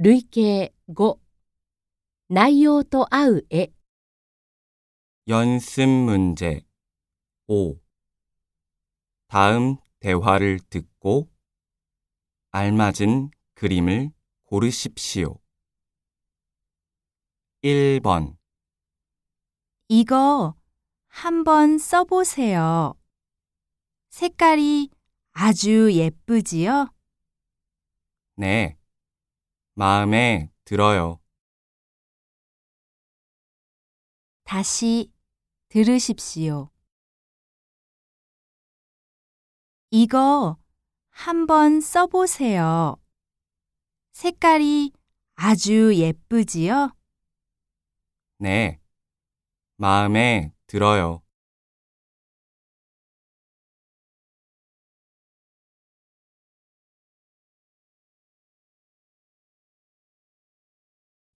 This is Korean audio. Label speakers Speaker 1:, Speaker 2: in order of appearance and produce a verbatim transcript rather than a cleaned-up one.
Speaker 1: 類型ご、内容と合う絵。
Speaker 2: 연습 문제 오. 다음 대화를 듣고 알맞은 그림을 고르십시오. 일 번.
Speaker 3: 이거 한번 써보세요. 색깔이 아주 예쁘지요?
Speaker 2: 네, 마음에 들어요.
Speaker 3: 다시 들으십시오. 이거 한번 써보세요. 색깔이 아주 예쁘지요?
Speaker 2: 네, 마음에 들어요.